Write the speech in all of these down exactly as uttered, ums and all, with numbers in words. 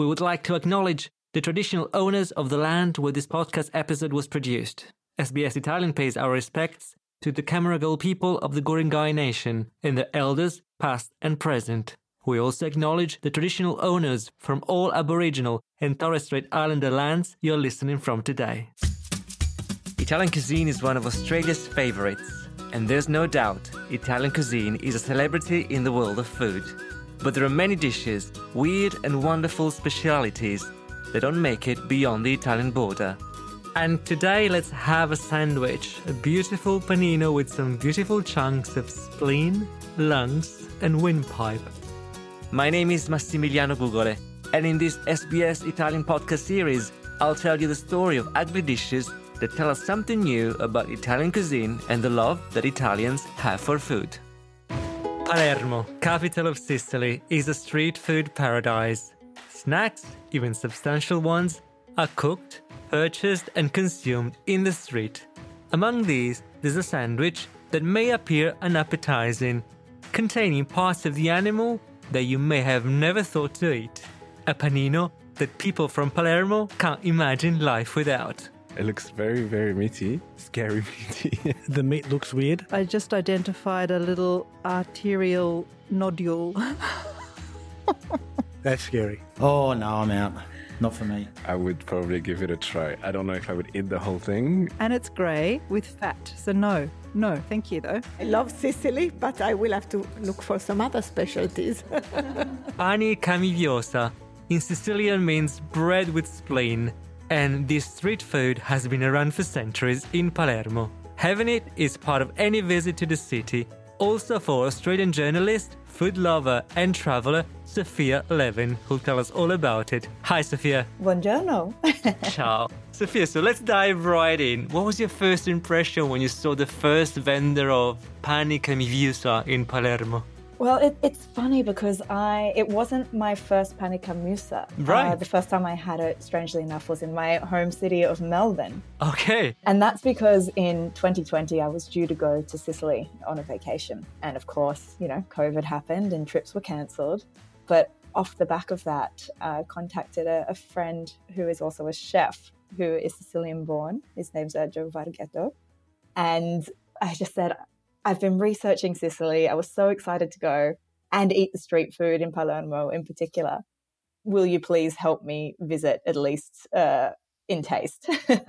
we would like to acknowledge the traditional owners of the land where this podcast episode was produced. S B S Italian pays our respects to the Camaragal people of the Guringai Nation and their elders, past and present. We also acknowledge the traditional owners from all Aboriginal and Torres Strait Islander lands you're listening from today. Italian cuisine is one of Australia's favourites, and there's no doubt Italian cuisine is a celebrity in the world of food. But there are many dishes, weird and wonderful specialities that don't make it beyond the Italian border. And today let's have a sandwich, a beautiful panino with some beautiful chunks of spleen, lungs and windpipe. My name is Massimiliano Gugole, and in this S B S Italian podcast series, I'll tell you the story of ugly dishes that tell us something new about Italian cuisine and the love that Italians have for food. Palermo, capital of Sicily, is a street food paradise. Snacks, even substantial ones, are cooked, purchased and consumed in the street. Among these, there's a sandwich that may appear unappetizing, containing parts of the animal that you may have never thought to eat. A panino that people from Palermo can't imagine life without. It looks very, very meaty. Scary meaty. The meat looks weird. I just identified a little arterial nodule. That's scary. Oh, no, I'm out. Not for me. I would probably give it a try. I don't know if I would eat the whole thing. And it's grey with fat, so no. No, thank you though. I love Sicily, but I will have to look for some other specialties. Pani camiviosa in Sicilian means bread with spleen, and this street food has been around for centuries in Palermo. Having it is part of any visit to the city, also for Australian journalist, food lover and traveller Sophia Levin, who'll tell us all about it. Hi, Sophia. Buongiorno. Ciao. Sophia, so let's dive right in. What was your first impression when you saw the first vendor of pani camiviosa in Palermo? Well, it, it's funny because I it wasn't my first pani camiviosa. Right. Uh, the first time I had it, strangely enough, was in my home city of Melbourne. Okay. And that's because in twenty twenty, I was due to go to Sicily on a vacation. And of course, you know, COVID happened and trips were cancelled. But off the back of that, I contacted a, a friend who is also a chef who is Sicilian born. His name's uh, Joe Varghetto. And I just said, I've been researching Sicily. I was so excited to go and eat the street food in Palermo in particular. Will you please help me visit at least uh, in taste?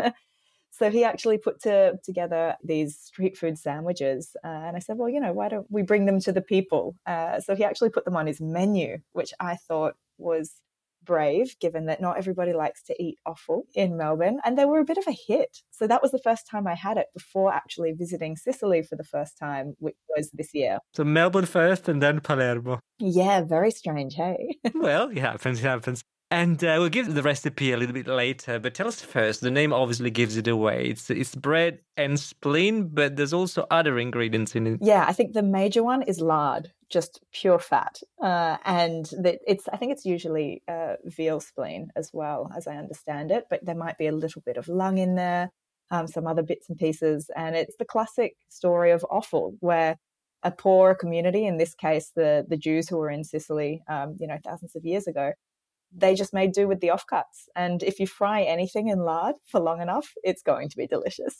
So he actually put to, together these street food sandwiches. Uh, and I said, well, you know, why don't we bring them to the people? Uh, so he actually put them on his menu, which I thought was brave, given that not everybody likes to eat offal in Melbourne. And they were a bit of a hit. So that was the first time I had it before actually visiting Sicily for the first time, which was this year. So Melbourne first and then Palermo. Yeah, very strange, hey? Well, it happens, it happens. And uh, we'll give the recipe a little bit later, but tell us first, the name obviously gives it away. It's it's bread and spleen, but there's also other ingredients in it. Yeah, I think the major one is lard, just pure fat. Uh, and that it's I think it's usually uh, veal spleen as well, as I understand it, but there might be a little bit of lung in there, um, some other bits and pieces. And it's the classic story of offal, where a poor community, in this case, the, the Jews who were in Sicily, um, you know, thousands of years ago, they just made do with the offcuts. And if you fry anything in lard for long enough, it's going to be delicious.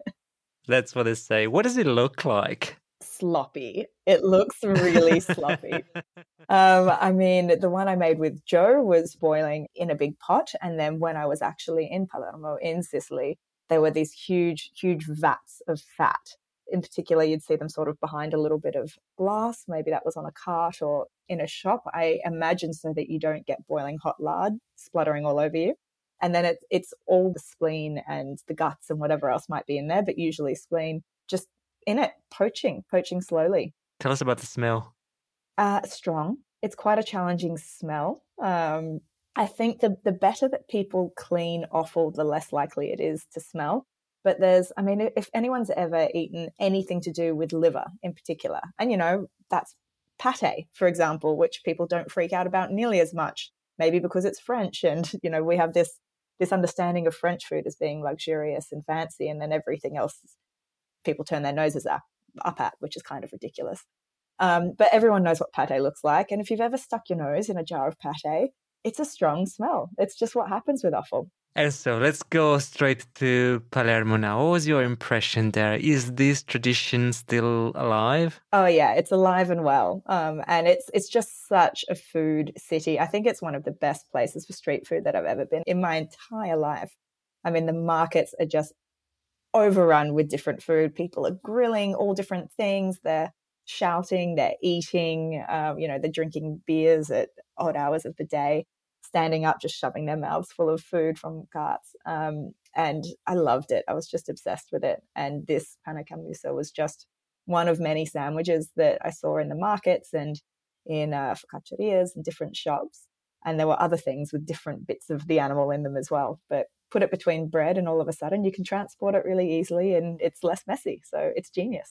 That's what they say. What does it look like? Sloppy. It looks really sloppy. Um, I mean, the one I made with Joe was boiling in a big pot. And then when I was actually in Palermo, in Sicily, there were these huge, huge vats of fat. In particular, you'd see them sort of behind a little bit of glass. Maybe that was on a cart or in a shop, I imagine, so that you don't get boiling hot lard spluttering all over you. And then it, it's all the spleen and the guts and whatever else might be in there, but usually spleen just in it, poaching, poaching slowly. Tell us about the smell. Uh, strong. It's quite a challenging smell. Um, I think the, the better that people clean offal, the less likely it is to smell. But there's, I mean, if anyone's ever eaten anything to do with liver in particular, and, you know, that's pate, for example, which people don't freak out about nearly as much, maybe because it's French. And, you know, we have this this understanding of French food as being luxurious and fancy, and then everything else people turn their noses up, up at, which is kind of ridiculous. Um, but everyone knows what pate looks like. And if you've ever stuck your nose in a jar of pate, it's a strong smell. It's just what happens with offal. And so let's go straight to Palermo now. What was your impression there? Is this tradition still alive? Oh yeah, it's alive and well. Um, and it's it's just such a food city. I think it's one of the best places for street food that I've ever been in my entire life. I mean, the markets are just overrun with different food. People are grilling all different things. They're shouting, they're eating, um, you know, they're drinking beers at odd hours of the day, standing up, just shoving their mouths full of food from carts. Um, and I loved it. I was just obsessed with it. And this panna cammusa was just one of many sandwiches that I saw in the markets and in uh, focaccierias and different shops. And there were other things with different bits of the animal in them as well. But put it between bread and all of a sudden you can transport it really easily and it's less messy. So it's genius.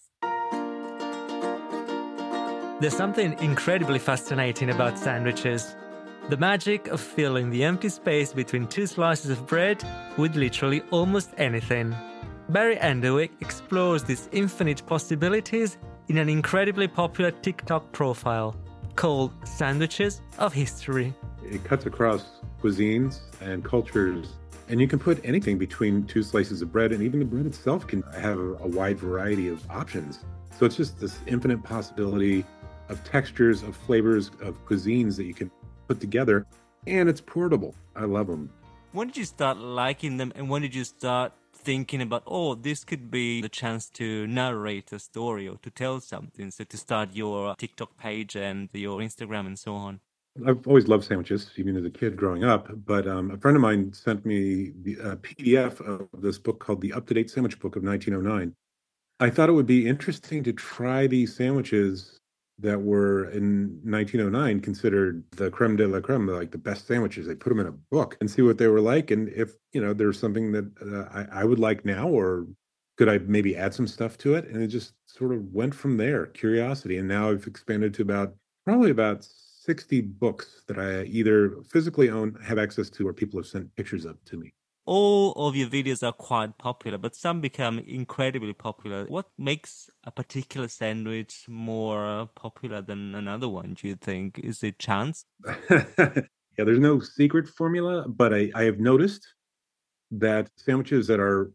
There's something incredibly fascinating about sandwiches. The magic of filling the empty space between two slices of bread with literally almost anything. Barry Enderwick explores these infinite possibilities in an incredibly popular TikTok profile called Sandwiches of History. It cuts across cuisines and cultures, and you can put anything between two slices of bread, and even the bread itself can have a wide variety of options. So it's just this infinite possibility of textures, of flavors, of cuisines that you can put together, and it's portable. I love them. When did you start liking them, and when did you start thinking about, oh, this could be the chance to narrate a story or to tell something, so to start your TikTok page and your Instagram and so on? I've always loved sandwiches, even as a kid growing up, but um, a friend of mine sent me the uh, P D F of this book called The Up-to-Date Sandwich Book of nineteen oh nine. I thought it would be interesting to try these sandwiches that were in nineteen oh nine considered the creme de la creme, like the best sandwiches. They put them in a book and see what they were like. And if, you know, there's something that uh, I, I would like now, or could I maybe add some stuff to it? And it just sort of went from there, curiosity. And now I've expanded to about, probably about sixty books that I either physically own, have access to, or people have sent pictures of to me. All of your videos are quite popular, but some become incredibly popular. What makes a particular sandwich more popular than another one, do you think? Is it chance? Yeah, there's no secret formula, but I, I have noticed that sandwiches that are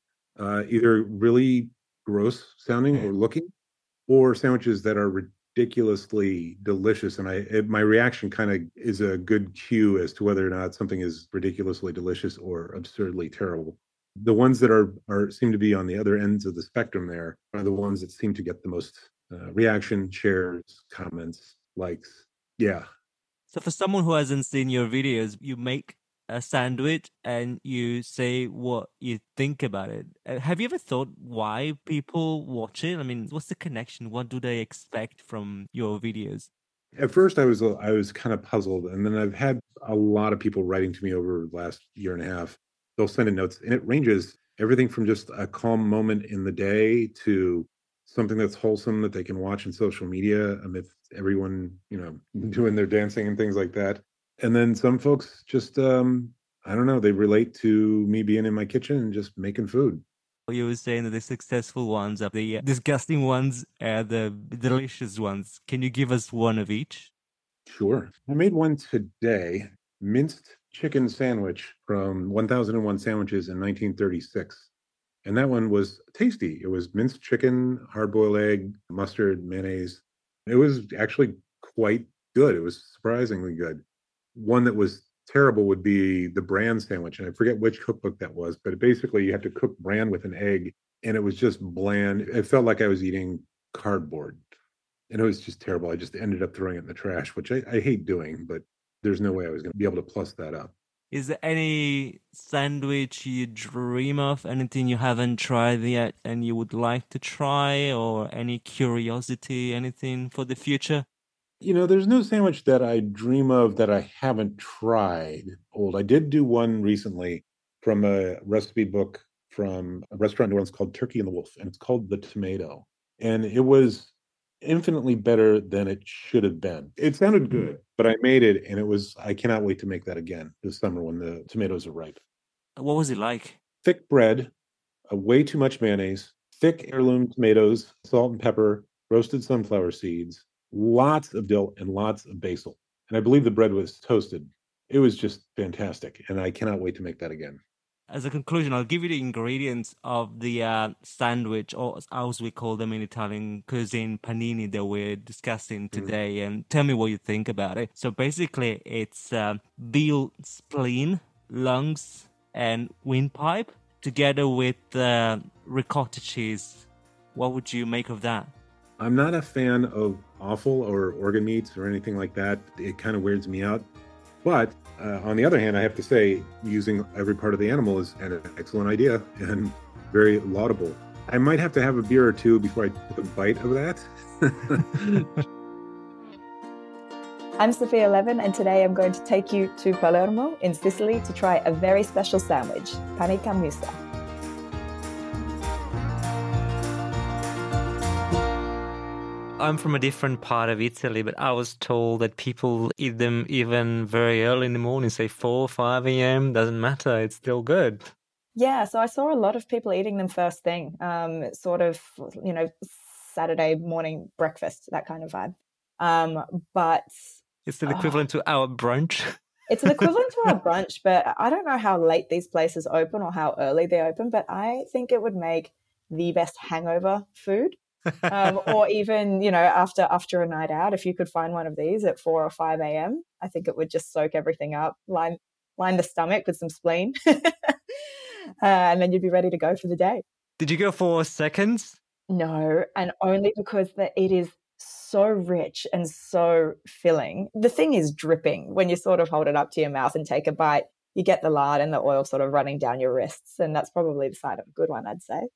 uh, either really gross sounding or looking, or sandwiches that are ridiculously delicious, and I it, my reaction kind of is a good cue as to whether or not something is ridiculously delicious or absurdly terrible. The ones that are are seem to be on the other ends of the spectrum there are the ones that seem to get the most uh, reaction, shares, comments, likes. Yeah. So for someone who hasn't seen your videos, you make a sandwich and you say what you think about it. Uh, have you ever thought why people watch it? I mean, what's the connection? What do they expect from your videos? At first, I was I was kind of puzzled, and then I've had a lot of people writing to me over the last year and a half. They'll send in notes, and it ranges everything from just a calm moment in the day to something that's wholesome that they can watch on social media amidst everyone, you know, doing their dancing and things like that. And then some folks just, um, I don't know, they relate to me being in my kitchen and just making food. You were saying that the successful ones are the disgusting ones and the delicious ones. Can you give us one of each? Sure. I made one today, minced chicken sandwich from one thousand one Sandwiches in nineteen thirty-six. And that one was tasty. It was minced chicken, hard-boiled egg, mustard, mayonnaise. It was actually quite good. It was surprisingly good. One that was terrible would be the bran sandwich. And I forget which cookbook that was, but basically you have to cook bran with an egg, and it was just bland. It felt like I was eating cardboard, and it was just terrible. I just ended up throwing it in the trash, which I, I hate doing, but there's no way I was going to be able to plus that up. Is there any sandwich you dream of, anything you haven't tried yet and you would like to try, or any curiosity, anything for the future? You know, there's no sandwich that I dream of that I haven't tried. Old. I did do one recently from a recipe book from a restaurant in New Orleans called Turkey and the Wolf, and it's called The Tomato. And it was infinitely better than it should have been. It sounded good, but I made it, and it was, I cannot wait to make that again this summer when the tomatoes are ripe. What was it like? Thick bread, uh, way too much mayonnaise, thick heirloom tomatoes, salt and pepper, roasted sunflower seeds, lots of dill, and lots of basil. And I believe the bread was toasted. It was just fantastic, and I cannot wait to make that again. As a conclusion, I'll give you the ingredients of the uh, sandwich, or as we call them in Italian cuisine, panini, that we're discussing today, mm. and tell me what you think about it. So basically, it's uh, veal spleen, lungs, and windpipe, together with uh, ricotta cheese. What would you make of that? I'm not a fan of offal or organ meats or anything like that. It kind of weirds me out. But uh, on the other hand, I have to say, using every part of the animal is an excellent idea and very laudable. I might have to have a beer or two before I take a bite of that. I'm Sophia Levin, and today I'm going to take you to Palermo in Sicily to try a very special sandwich, panica musa. I'm from a different part of Italy, but I was told that people eat them even very early in the morning, say four or five a.m. Doesn't matter, it's still good. Yeah, so I saw a lot of people eating them first thing, um, sort of, you know, Saturday morning breakfast, that kind of vibe. Um, but it's the equivalent uh, to our brunch. It's an equivalent to our brunch, but I don't know how late these places open or how early they open, but I think it would make the best hangover food. um, or even, you know, after after a night out, if you could find one of these at four or five a.m., I think it would just soak everything up, line line the stomach with some spleen, uh, and then you'd be ready to go for the day. Did you go for seconds? No, and only because the, it is so rich and so filling. The thing is dripping when you sort of hold it up to your mouth and take a bite. You get the lard and the oil sort of running down your wrists, and that's probably the sign of a good one, I'd say.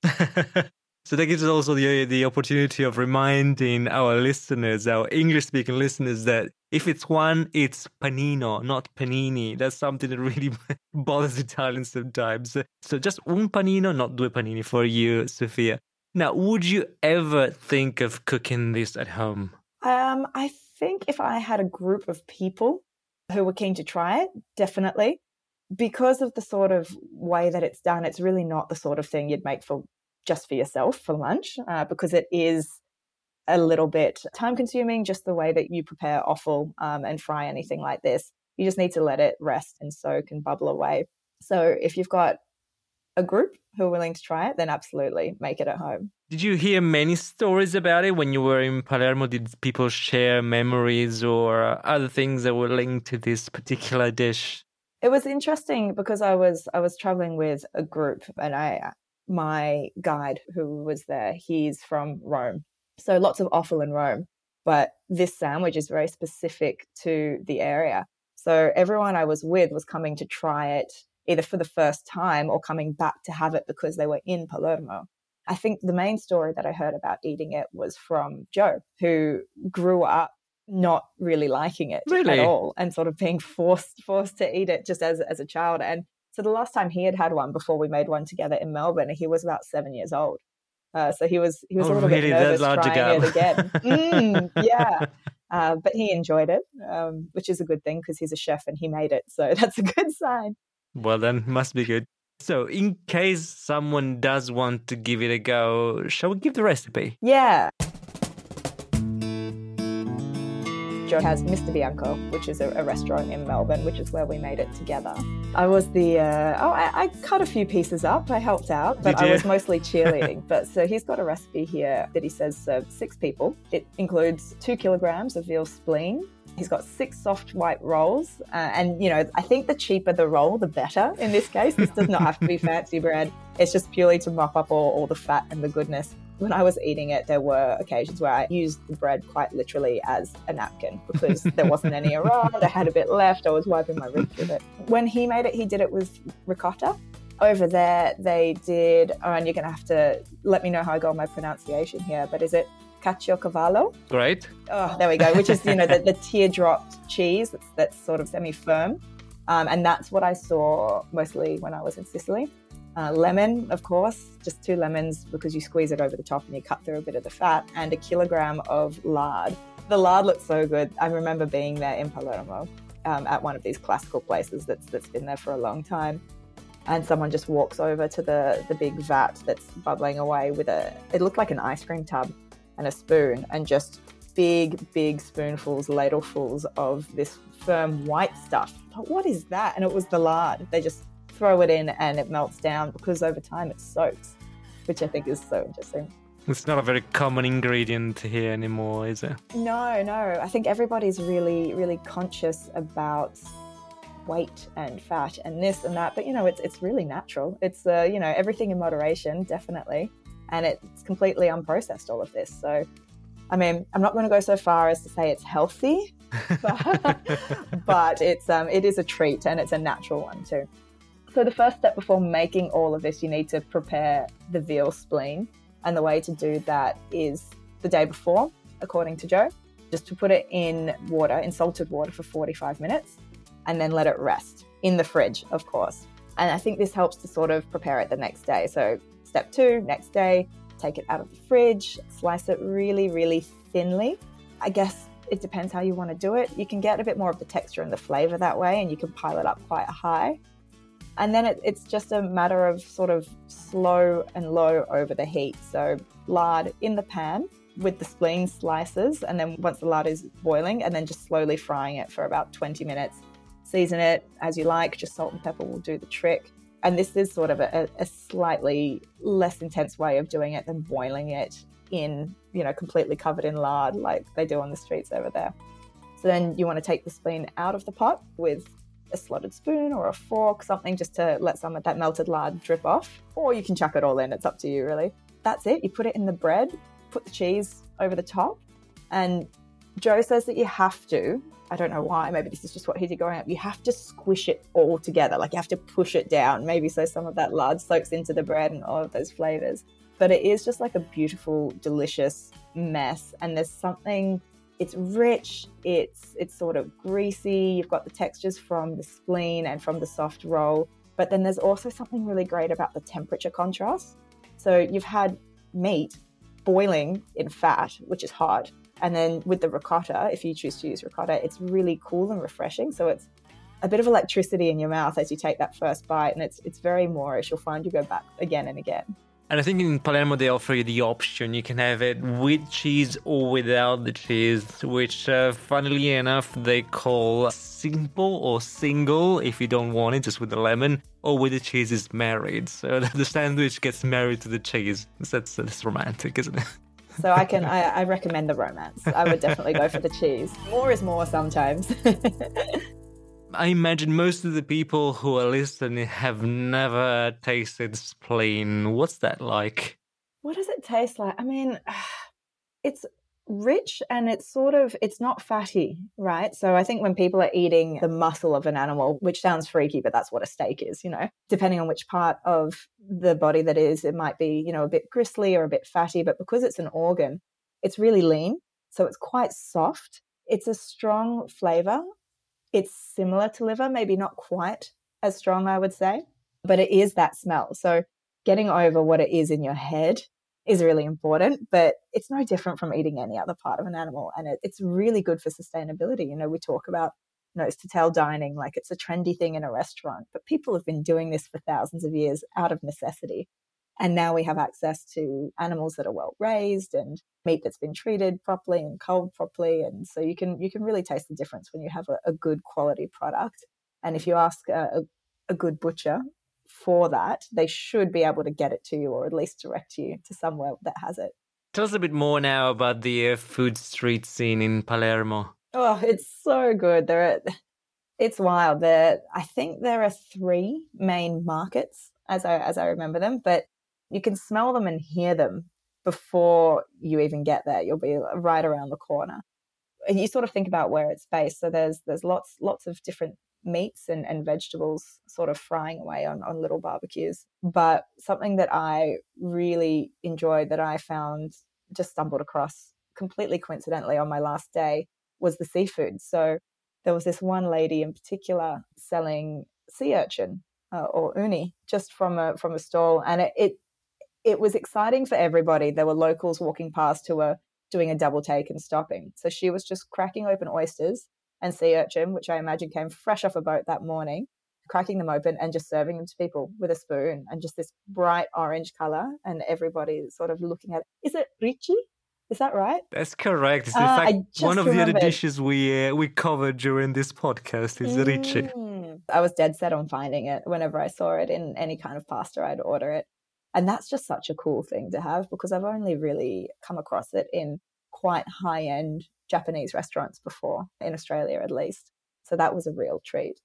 So that gives us also the the opportunity of reminding our listeners, our English-speaking listeners, that if it's one, it's panino, not panini. That's something that really bothers Italians sometimes. So just un panino, not due panini for you, Sophia. Now, would you ever think of cooking this at home? Um, I think if I had a group of people who were keen to try it, definitely. Because of the sort of way that it's done, it's really not the sort of thing you'd make for just for yourself for lunch, uh, because it is a little bit time consuming, just the way that you prepare offal um, and fry anything like this. You just need to let it rest and soak and bubble away. So if you've got a group who are willing to try it, then absolutely make it at home. Did you hear many stories about it when you were in Palermo? Did people share memories or other things that were linked to this particular dish? It was interesting because I was I was traveling with a group, and I my guide who was there, he's from Rome. So lots of offal in Rome, but this sandwich is very specific to the area. So everyone I was with was coming to try it either for the first time or coming back to have it because they were in Palermo. I think the main story that I heard about eating it was from Joe, who grew up not really liking it really? at all and sort of being forced forced to eat it just as as a child. And so the last time he had had one before we made one together in Melbourne, he was about seven years old. Uh, so he was he was oh, a little really? bit nervous trying ago. it again. mm, yeah, uh, but he enjoyed it, um, which is a good thing because he's a chef and he made it. So that's a good sign. Well, then must be good. So in case someone does want to give it a go, shall we give the recipe? Yeah. Joe has Mister Bianco, which is a, a restaurant in Melbourne, which is where we made it together. I was the, uh, oh, I, I cut a few pieces up. I helped out, but I was mostly cheerleading. But so he's got a recipe here that he says serves six people. It includes two kilograms of veal spleen. He's got six soft white rolls. Uh, and, you know, I think the cheaper the roll, the better in this case. This does not have to be fancy bread. It's just purely to mop up all, all the fat and the goodness. When I was eating it, there were occasions where I used the bread quite literally as a napkin because there wasn't any around. I had a bit left. I was wiping my wrist with it. When he made it, he did it with ricotta. Over there, they did, oh, and you're going to have to let me know how I go on my pronunciation here, but is it caciocavallo? Great. Oh, there we go, which is, you know, the, the teardropped cheese that's, that's sort of semi-firm. Um, and that's what I saw mostly when I was in Sicily. Uh, lemon, of course, just two lemons because you squeeze it over the top and you cut through a bit of the fat, and a kilogram of lard. The lard looks so good. I remember being there in Palermo um, at one of these classical places that's that's been there for a long time. And someone just walks over to the, the big vat that's bubbling away with a, it looked like an ice cream tub and a spoon, and just big, big spoonfuls, ladlefuls of this firm white stuff. But what is that? And it was the lard. They just throw it in and it melts down because over time it soaks, which I think is so interesting. It's not a very common ingredient here anymore, is it? No, no. I think everybody's really, really conscious about weight and fat and this and that. But, you know, it's it's really natural. It's, uh, you know, everything in moderation, definitely. And it's completely unprocessed, all of this. So, I mean, I'm not going to go so far as to say it's healthy, but, but it's um, it is a treat and it's a natural one too. So the first step before making all of this, you need to prepare the veal spleen. And the way to do that is the day before, according to Joe, just to put it in water, in salted water for forty-five minutes, and then let it rest in the fridge, of course. And I think this helps to sort of prepare it the next day. So step two, next day, take it out of the fridge, slice it really, really thinly. I guess it depends how you want to do it. You can get a bit more of the texture and the flavor that way, and you can pile it up quite high. And then it, it's just a matter of sort of slow and low over the heat. So lard in the pan with the spleen slices, and then once the lard is boiling, and then just slowly frying it for about twenty minutes. Season it as you like, just salt and pepper will do the trick. And this is sort of a, a slightly less intense way of doing it than boiling it in, you know, completely covered in lard like they do on the streets over there. So then you want to take the spleen out of the pot with a slotted spoon or a fork, something just to let some of that melted lard drip off, or you can chuck it all in. It's up to you, really. That's it. You put it in the bread, put the cheese over the top, and Joe says that you have to, I don't know why, maybe this is just what he did growing up, you have to squish it all together. Like you have to push it down, maybe so some of that lard soaks into the bread and all of those flavors. But it is just like a beautiful, delicious mess. And there's something, it's rich, it's it's sort of greasy, you've got the textures from the spleen and from the soft roll, but then there's also something really great about the temperature contrast. So you've had meat boiling in fat, which is hot, and then with the ricotta, if you choose to use ricotta, it's really cool and refreshing. So it's a bit of electricity in your mouth as you take that first bite, and it's it's very Moorish. You'll find you go back again and again. And I think in Palermo they offer you the option. You can have it with cheese or without the cheese, which uh, funnily enough they call simple or single if you don't want it, just with the lemon, or with the cheese is married. So the sandwich gets married to the cheese. That's, that's romantic, isn't it? So I can I, I recommend the romance. I would definitely go for the cheese. More is more sometimes. I imagine most of the people who are listening have never tasted spleen. What's that like? What does it taste like? I mean, it's rich and it's sort of, it's not fatty, right? So I think when people are eating the muscle of an animal, which sounds freaky, but that's what a steak is, you know, depending on which part of the body that is, it might be, you know, a bit gristly or a bit fatty, but because it's an organ, it's really lean. So it's quite soft. It's a strong flavor. It's similar to liver, maybe not quite as strong, I would say, but it is that smell. So getting over what it is in your head is really important, but it's no different from eating any other part of an animal. And it, it's really good for sustainability. You know, we talk about nose to tail dining like it's a trendy thing in a restaurant, but people have been doing this for thousands of years out of necessity. And now we have access to animals that are well raised and meat that's been treated properly and culled properly. And so you can you can really taste the difference when you have a, a good quality product. And if you ask a, a, a good butcher for that, they should be able to get it to you or at least direct you to somewhere that has it. Tell us a bit more now about the uh, food street scene in Palermo. Oh, it's so good. There are, it's wild. There, I think there are three main markets as I as I remember them, but you can smell them and hear them before you even get there. You'll be right around the corner. And you sort of think about where it's based. So there's there's lots lots of different meats and, and vegetables sort of frying away on, on little barbecues. But something that I really enjoyed that I found, just stumbled across completely coincidentally on my last day, was the seafood. So there was this one lady in particular selling sea urchin uh, or uni just from a from a stall. And it, it It was exciting for everybody. There were locals walking past who were doing a double take and stopping. So she was just cracking open oysters and sea urchin, which I imagine came fresh off a boat that morning, cracking them open and just serving them to people with a spoon, and just this bright orange color, and everybody sort of looking at it. Is it ricci? Is that right? That's correct. It's in Ah, I fact just one of the other remembered. dishes we uh, we covered during this podcast is ricci. Mm. I was dead set on finding it. Whenever I saw it in any kind of pasta, I'd order it. And that's just such a cool thing to have, because I've only really come across it in quite high-end Japanese restaurants before, in Australia at least. So that was a real treat.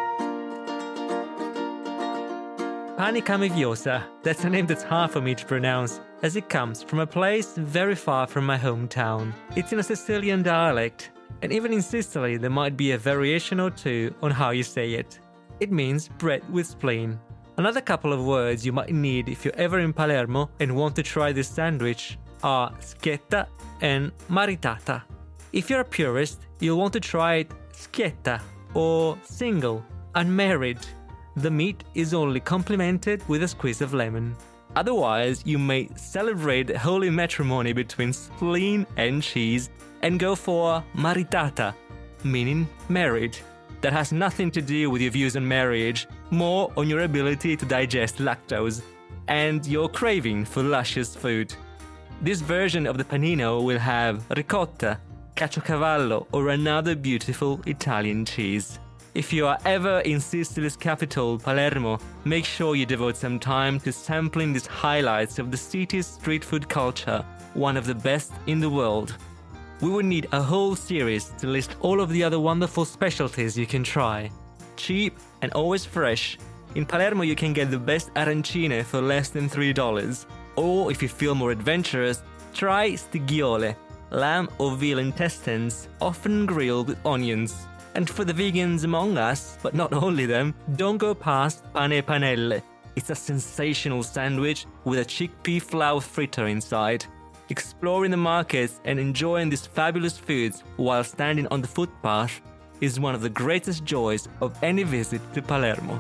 Pani Camiviosa, that's a name that's hard for me to pronounce, as it comes from a place very far from my hometown. It's in a Sicilian dialect, and even in Sicily there might be a variation or two on how you say it. It means bread with spleen. Another couple of words you might need if you're ever in Palermo and want to try this sandwich are schietta and maritata. If you're a purist, you'll want to try it schietta or single, unmarried. The meat is only complemented with a squeeze of lemon. Otherwise, you may celebrate holy matrimony between spleen and cheese and go for maritata, meaning married. That has nothing to do with your views on marriage, more on your ability to digest lactose and your craving for luscious food. This version of the panino will have ricotta, caciocavallo, or another beautiful Italian cheese. If you are ever in Sicily's capital, Palermo, make sure you devote some time to sampling these highlights of the city's street food culture, one of the best in the world. We would need a whole series to list all of the other wonderful specialties you can try. Cheap and always fresh. In Palermo you can get the best arancine for less than three dollars. Or if you feel more adventurous, try stighiole, lamb or veal intestines, often grilled with onions. And for the vegans among us, but not only them, don't go past pane e panelle. It's a sensational sandwich with a chickpea flour fritter inside. Exploring the markets and enjoying these fabulous foods while standing on the footpath is one of the greatest joys of any visit to Palermo.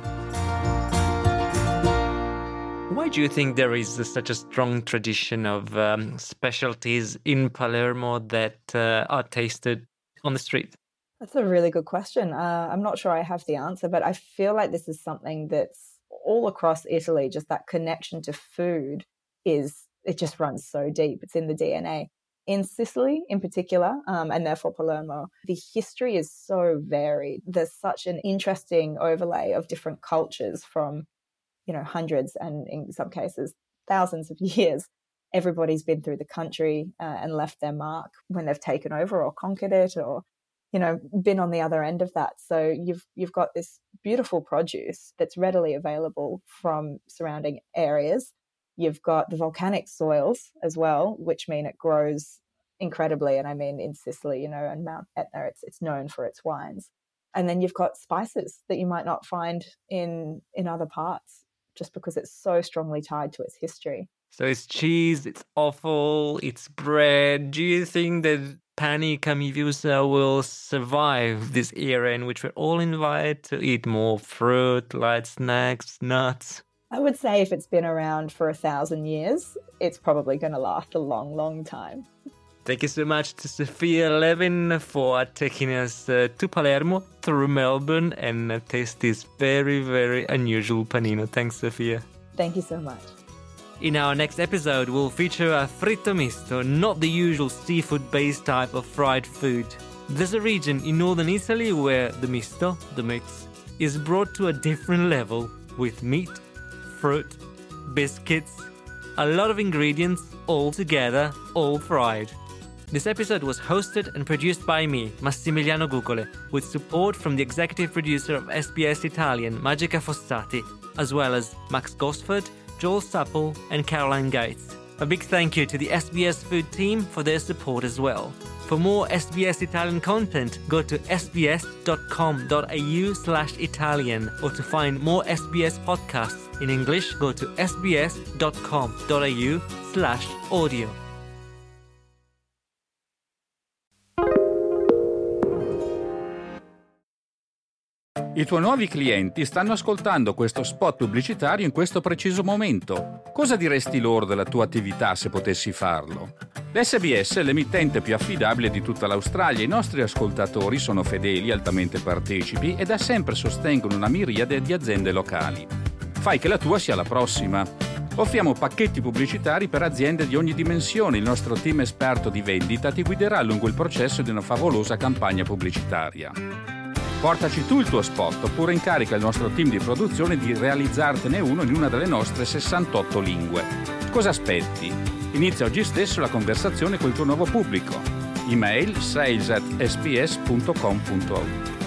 Why do you think there is a, such a strong tradition of um, specialties in Palermo that uh, are tasted on the street? That's a really good question. Uh, I'm not sure I have the answer, but I feel like this is something that's all across Italy. Just that connection to food is, it just runs so deep. It's in the D N A. In Sicily in particular, um, and therefore Palermo, the history is so varied. There's such an interesting overlay of different cultures from, you know, hundreds and in some cases thousands of years. Everybody's been through the country uh, and left their mark when they've taken over or conquered it, or you know, been on the other end of that. So you've you've got this beautiful produce that's readily available from surrounding areas. You've got the volcanic soils as well, which mean it grows incredibly. And I mean, in Sicily, you know, and Mount Etna, it's it's known for its wines. And then you've got spices that you might not find in in other parts, just because it's so strongly tied to its history. So it's cheese, it's offal, it's bread. Do you think that Pani Camiviosa will survive this era in which we're all invited to eat more fruit, light snacks, nuts? I would say if it's been around for a thousand years, it's probably going to last a long, long time. Thank you so much to Sophia Levin for taking us uh, to Palermo through Melbourne and uh, taste this very, very unusual panino. Thanks, Sophia. Thank you so much. In our next episode, we'll feature a fritto misto, not the usual seafood-based type of fried food. There's a region in northern Italy where the misto, the mix, is brought to a different level with meat, fruit, biscuits, a lot of ingredients all together, all fried. This episode was hosted and produced by me, Massimiliano Gugole, with support from the executive producer of S B S Italian, Magica Fossati, as well as Max Gosford, Joel Supple and Caroline Gates. A big thank you to the S B S Food team for their support as well. For more S B S Italian content, go to sbs.com.au slash Italian, or to find more S B S podcasts in English, go to sbs.com.au slash audio. I tuoi nuovi clienti stanno ascoltando questo spot pubblicitario in questo preciso momento. Cosa diresti loro della tua attività se potessi farlo? L'S B S è l'emittente più affidabile di tutta l'Australia. I nostri ascoltatori sono fedeli, altamente partecipi e da sempre sostengono una miriade di aziende locali. Fai che la tua sia la prossima. Offriamo pacchetti pubblicitari per aziende di ogni dimensione. Il nostro team esperto di vendita ti guiderà lungo il processo di una favolosa campagna pubblicitaria. Portaci tu il tuo spot oppure incarica il nostro team di produzione di realizzartene uno in una delle nostre sessantotto lingue. Cosa aspetti? Inizia oggi stesso la conversazione col tuo nuovo pubblico. Email sales at s b s punto com punto a u.